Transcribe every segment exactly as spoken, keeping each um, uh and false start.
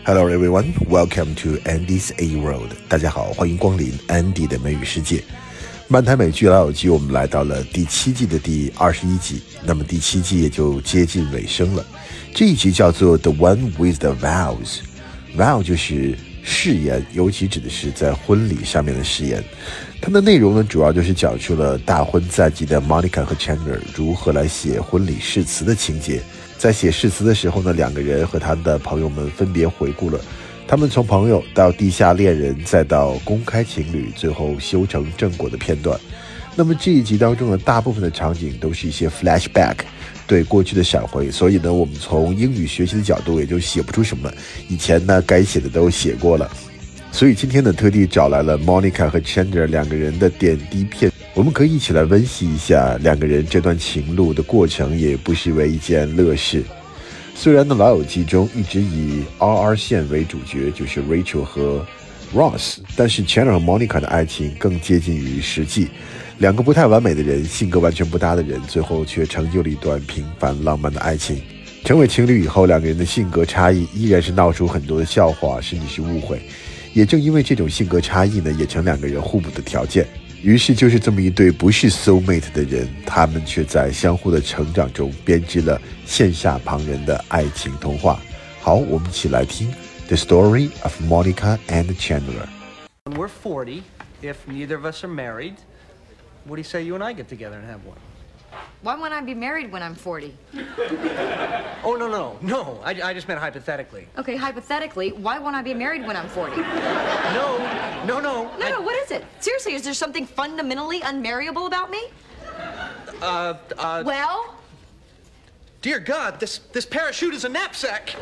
Hello everyone, welcome to Andy's A World. 大家好，欢迎光临 Andy 的美语世界。漫谈美剧老友记，我们来到了第七季的第二十一集，那么第七季也就接近尾声了。这一集叫做 The One with the Vows。Vow 就是誓言，尤其指的是在婚礼上面的誓言。它的内容呢，主要就是讲述了大婚在即的 Monica 和 Chandler 如何来写婚礼誓词的情节。在写誓词的时候呢，两个人和他的朋友们分别回顾了他们从朋友到地下恋人再到公开情侣，最后修成正果的片段。那么这一集当中的大部分的场景都是一些 flashback， 对过去的闪回，所以呢，我们从英语学习的角度也就写不出什么，以前呢该写的都写过了。所以今天呢，特地找来了 Monica 和 Chandler 两个人的点滴片，我们可以一起来温习一下两个人这段情路的过程，也不失为一件乐事。虽然呢，老友记中一直以 R R 线为主角，就是 Rachel 和 Ross， 但是 Chandler 和 Monica 的爱情更接近于实际。两个不太完美的人，性格完全不搭的人，最后却成就了一段平凡浪漫的爱情。成为情侣以后，两个人的性格差异依然是闹出很多的笑话，甚至是误会。也正因为这种性格差异呢，也成两个人互补的条件。于是就是这么一对不是 soulmate 的人，他们却在相互的成长中编织了羡煞旁人的爱情童话。好，我们一起来听 The Story of Monica and Chandler. When we're forty, if neither of us are married, what do you say you and I get together and have one? Why won't I be married when I'm forty? Oh, no, no, no. I, I just meant hypothetically. Okay, hypothetically, why won't I be married when I'm forty? No, no, no. No, I, no, what is it? Seriously, is there something fundamentally unmarriable about me? Uh, uh... Well? Dear God, this, this parachute is a knapsack.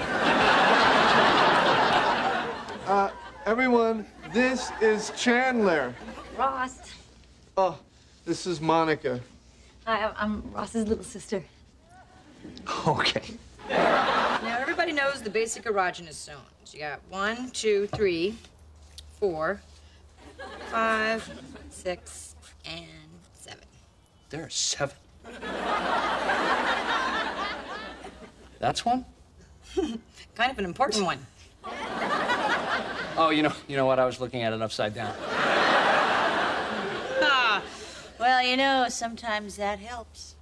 Uh, everyone, this is Chandler. Ross. Oh, this is Monica. Hi, I'm Ross's little sister. Okay. Now, everybody knows the basic erogenous zones. You got one, two, three, four, five, six, and seven. There are seven. That's one? Kind of an important one. Oh, you know, you know what? I was looking at it upside down. Ah, well, you know, sometimes that helps.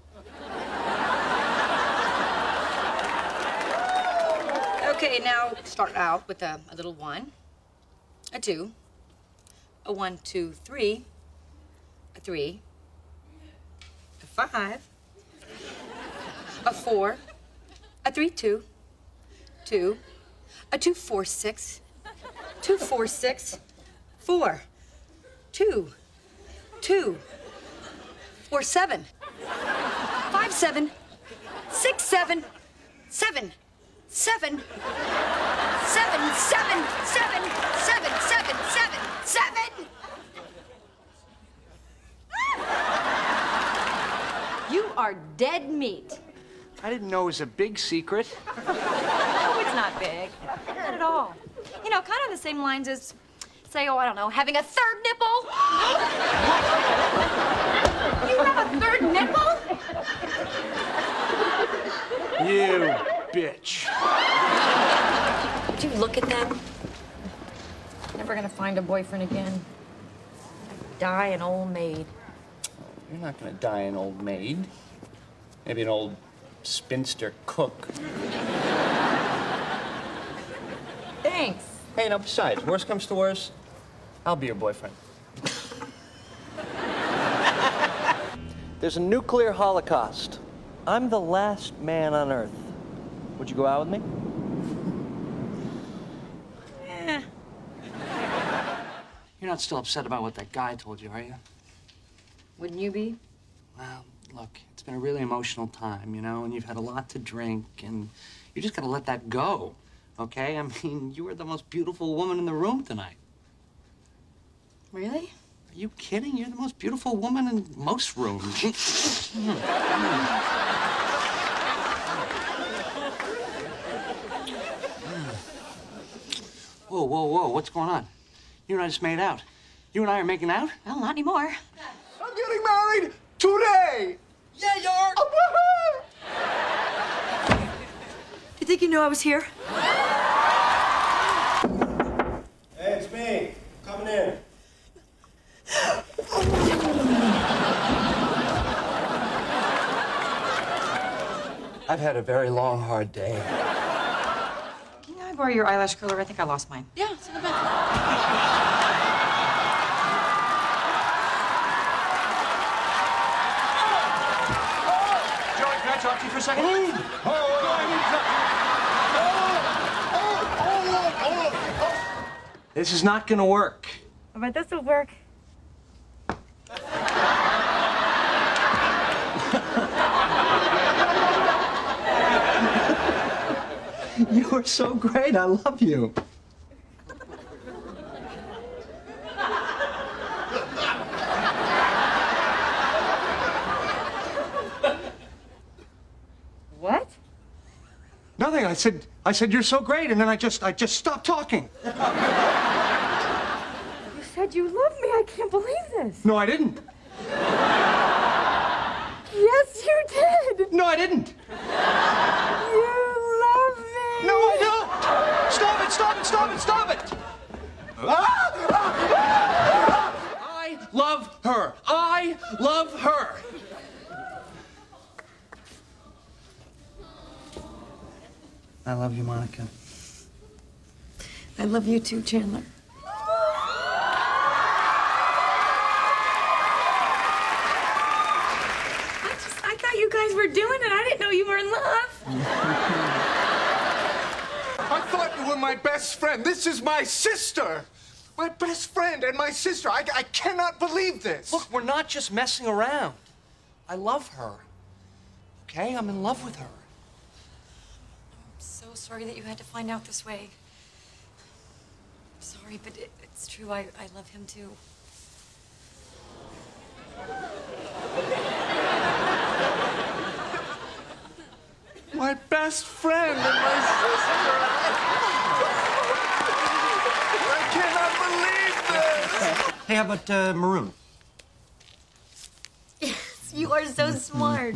Okay, now start out with a, a little one, a two, a one, two, three, a three, a five, a four, a three, two, two, a two, four, six, two, four, six, four, two, two, four, seven, five, seven, six, seven, seven, seven, seven, seven, seven, seven, seven, seven, seven. You are dead meat. I didn't know it was a big secret. No, it's not big. Not at all. You know, kind of the same lines as, say, oh, I don't know, having a third nipple. You have a third nipple? You bitch. Would you look at them? Never gonna find a boyfriend again. Die an old maid. You're not gonna die an old maid. Maybe an old spinster cook. Thanks. Hey, now besides, worst comes to worst, I'll be your boyfriend. There's a nuclear holocaust. I'm the last man on Earth. Would you go out with me? Eh. You're not still upset about what that guy told you, are you? Wouldn't you be? Well, look, it's been a really emotional time, you know, and you've had a lot to drink, and you just gotta let that go, okay? I mean, you were the most beautiful woman in the room tonight. Really? Are you kidding? You're the most beautiful woman in most rooms. Whoa, whoa, whoa, what's going on? You and I just made out. You and I are making out? Well, not anymore. I'm getting married today! Yeah, you are! You think you knew I was here? there. I've had a very long, hard day. Can I borrow your eyelash curler? I think I lost mine. Yeah, it's in the back. Joey, can I talk to you for a second? This is not gonna work. But this will work. You are so great. I love you. What? Nothing. I said I said you're so great, and then I just I just stopped talking. You said you love me. I can't believe this. No, I didn't. Yes, you did. No, I didn't. You love me. No, I don't. Stop it! Stop it! Stop it! Stop it! I love her. I love her. I love you, Monica. I love you too, Chandler. I just, I thought you guys were doing it. I didn't know you were in love. I thought you were my best friend. This is my sister. My best friend and my sister. I, I cannot believe this. Look, we're not just messing around. I love her. Okay? I'm in love with her. I'm so sorry that you had to find out this way. I'm sorry, but it, it's true. I, I love him too. My best friend and my sister. I cannot believe this. Hey, how about uh, maroon? Yes, you are so smart.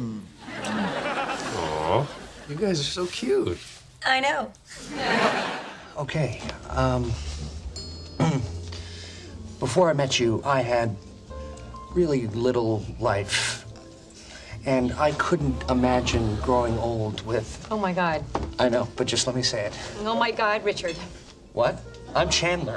Aw, you guys are so cute. I know. Okay. Um, before I met you, I had really little life. And I couldn't imagine growing old with... Oh, my God. I know, but just let me say it. Oh, my God, Richard. What? I'm Chandler.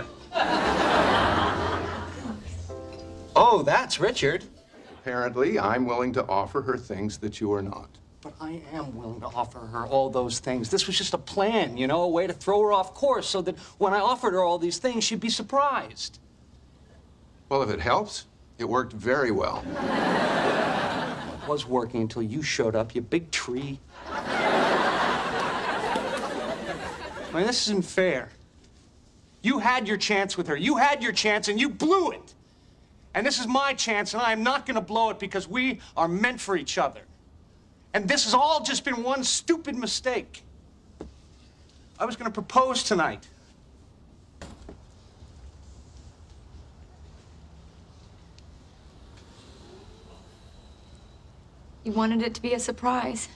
Oh, that's Richard. Apparently, I'm willing to offer her things that you are not. But I am willing to offer her all those things. This was just a plan, you know, a way to throw her off course so that when I offered her all these things, she'd be surprised. Well, if it helps, it worked very well. It was working until you showed up, you big tree. I mean, this isn't fair. You had your chance with her. You had your chance, and you blew it. And this is my chance, and I am not going to blow it because we are meant for each other. And this has all just been one stupid mistake. I was going to propose tonight. You wanted it to be a surprise.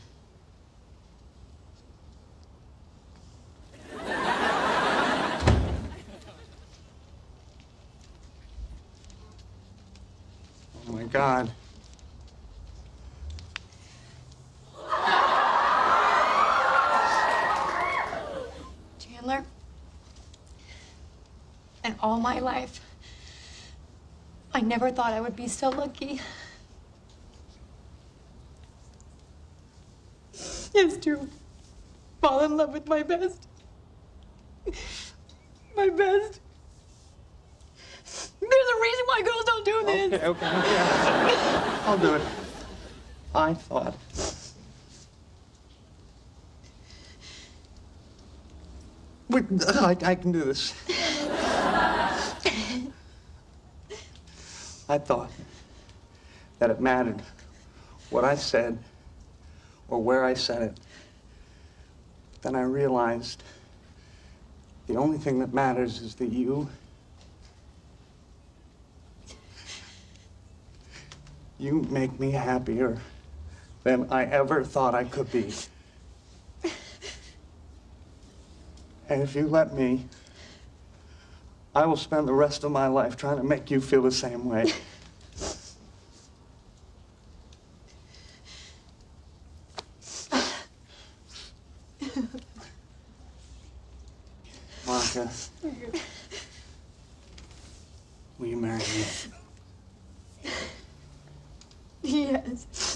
Oh, my God. Chandler, in all my life, I never thought I would be so lucky. It's true. Fall in love with my best. My best. There's a reason why girls don't do this. Okay, okay, okay. I'll do it. I thought. Wait, I, I can do this. I thought that it mattered what I said or where I said it. Then I realized the only thing that matters is that you You make me happier than I ever thought I could be. And if you let me, I will spend the rest of my life trying to make you feel the same way. Monica, will you marry me? Yes.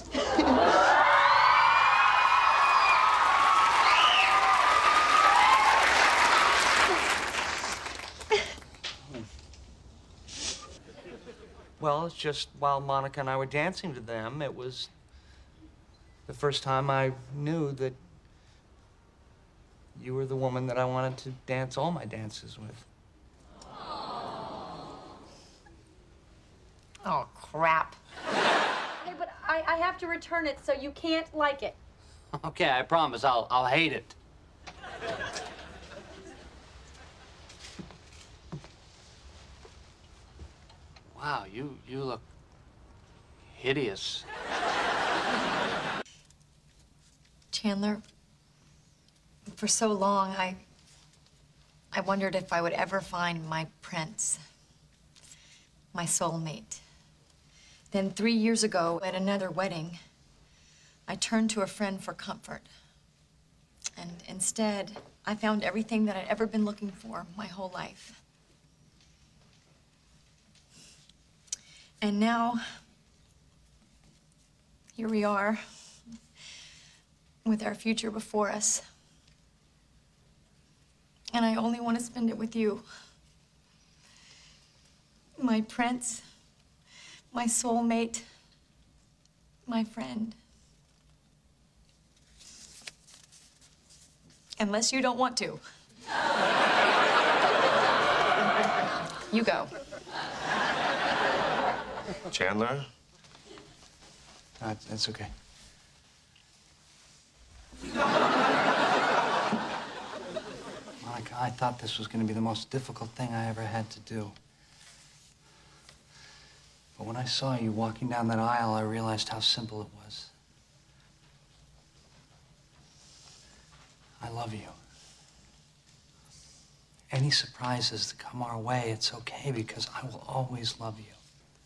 Well, it's just while Monica and I were dancing to them, it was the first time I knew that you were the woman that I wanted to dance all my dances with. Oh, crap. Hey, but I, I have to return it, so you can't like it. Okay, I promise I'll I'll hate it. Wow, you you look hideous. Chandler, for so long, I... I wondered if I would ever find my prince, my soulmate. Then three years ago, at another wedding, I turned to a friend for comfort. And instead, I found everything that I'd ever been looking for my whole life. And now, here we are, with our future before us. And I only want to spend it with you. My prince, my soulmate, my friend. Unless you don't want to. You go. Chandler? Uh, that's okay. Monica, I thought this was going to be the most difficult thing I ever had to do. But when I saw you walking down that aisle, I realized how simple it was. I love you. Any surprises that come our way, it's okay because I will always love you.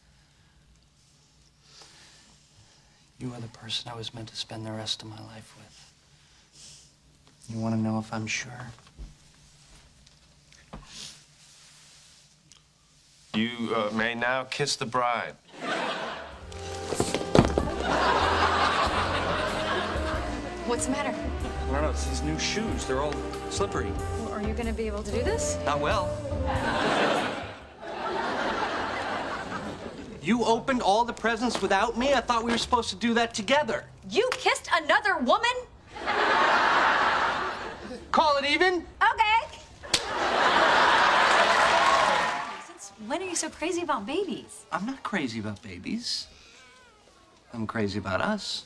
You are the person I was meant to spend the rest of my life with. You want to know if I'm sure? You uh, may now kiss the bride. What's the matter? I don't know, it's these new shoes. They're all slippery. Well, are you going to be able to do this? Not well. You opened all the presents without me? I thought we were supposed to do that together. You kissed another woman? Call it even? Okay. Since when are you so crazy about babies? I'm not crazy about babies. I'm crazy about us.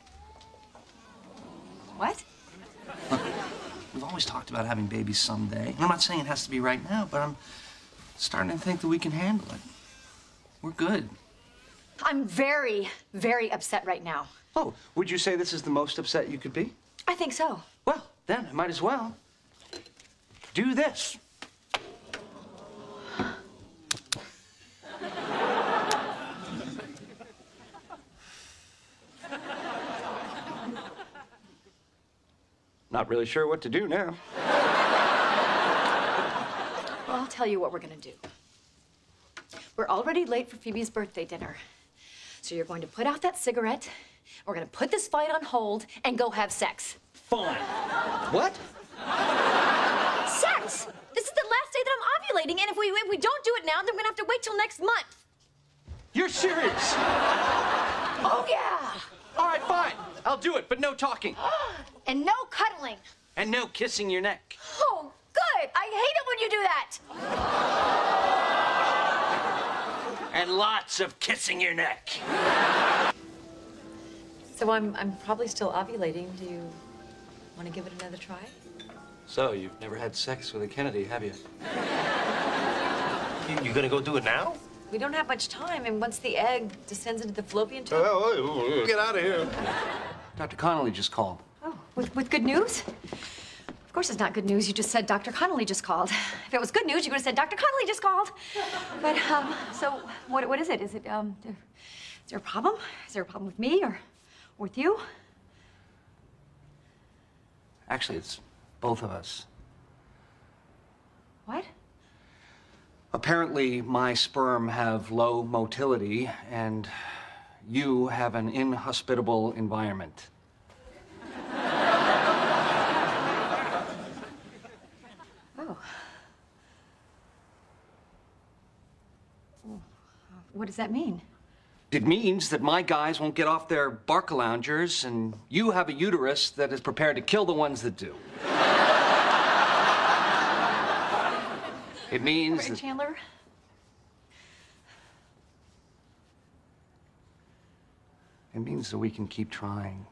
What? Look, we've always talked about having babies someday. I'm not saying it has to be right now, but I'm starting to think that we can handle it. We're good. I'm very, very upset right now. Oh, would you say this is the most upset you could be? I think so. Well, then I might as well do this. Not really sure what to do now. Well, I'll tell you what we're gonna do. We're already late for Phoebe's birthday dinner. So you're going to put out that cigarette, we're gonna put this fight on hold, and go have sex. Fine. What? Sex! This is the last day that I'm ovulating, and if we, if we don't do it now, then we're gonna have to wait till next month. You're serious? Oh, yeah! All right, fine. I'll do it, but no talking. And no cuddling. And no kissing your neck. Oh, good! I hate it when you do that! And lots of kissing your neck. So I'm, I'm probably still ovulating. Do you want to give it another try? So, you've never had sex with a Kennedy, have you? You, you gonna go do it now? We don't have much time, and once the egg descends into the fallopian tube... Oh, get out of here. Doctor Connolly just called. Oh, with, with good news? Of course it's not good news. You just said Doctor Connolly just called. If it was good news, you would have said Doctor Connolly just called. But, um, so what, what is it? Is it, um, is there a problem? Is there a problem with me or, or with you? Actually, it's both of us. What? Apparently, my sperm have low motility, and you have an inhospitable environment. Oh. What does that mean? It means that my guys won't get off their Barcaloungers, and you have a uterus that is prepared to kill the ones that do. It means Right, that... Chandler? It means that we can keep trying.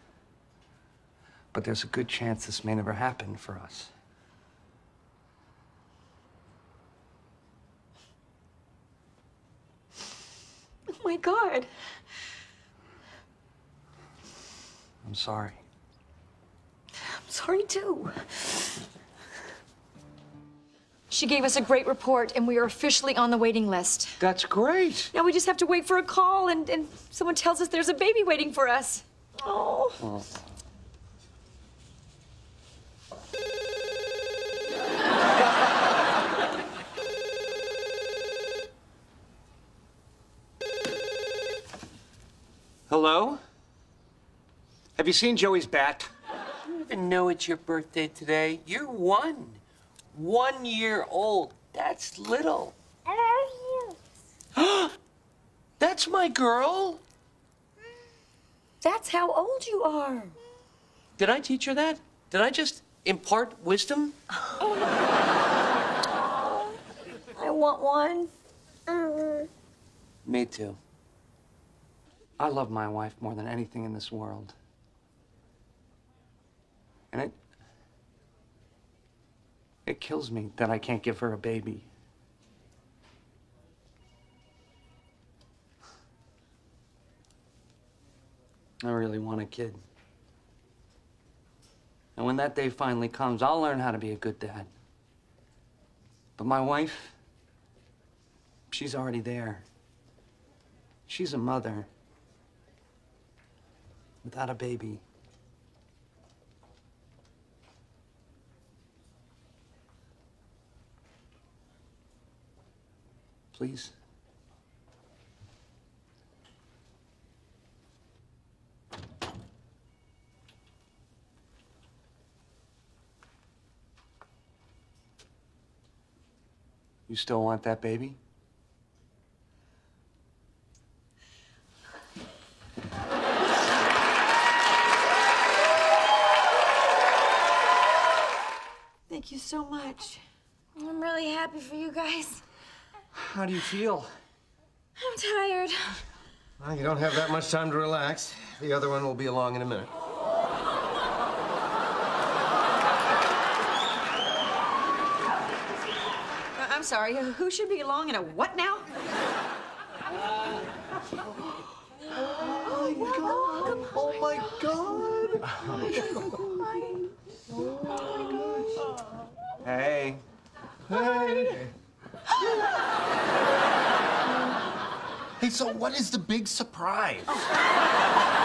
But there's a good chance this may never happen for us. Oh, my God. I'm sorry. I'm sorry, too. She gave us a great report, and we are officially on the waiting list. That's great. Now we just have to wait for a call, and, and someone tells us there's a baby waiting for us. Oh. Oh. Hello? Have you seen Joey's bat? You don't even know it's your birthday today. You're one. One year old. That's little. That's my girl. That's how old you are. Did I teach her that? Did I just impart wisdom? I want one. Me too. I love my wife more than anything in this world. And it... It kills me that I can't give her a baby. I really want a kid. And when that day finally comes, I'll learn how to be a good dad. But my wife, she's already there. She's a mother without a baby. Please. You still want that baby? Thank you so much. I'm really happy for you guys. How do you feel? I'm tired. Well, you don't have that much time to relax. The other one will be along in a minute. I'm sorry, who should be along in a what now? Oh my God! Oh my God! Hey. Hey. Hey, so what is the big surprise?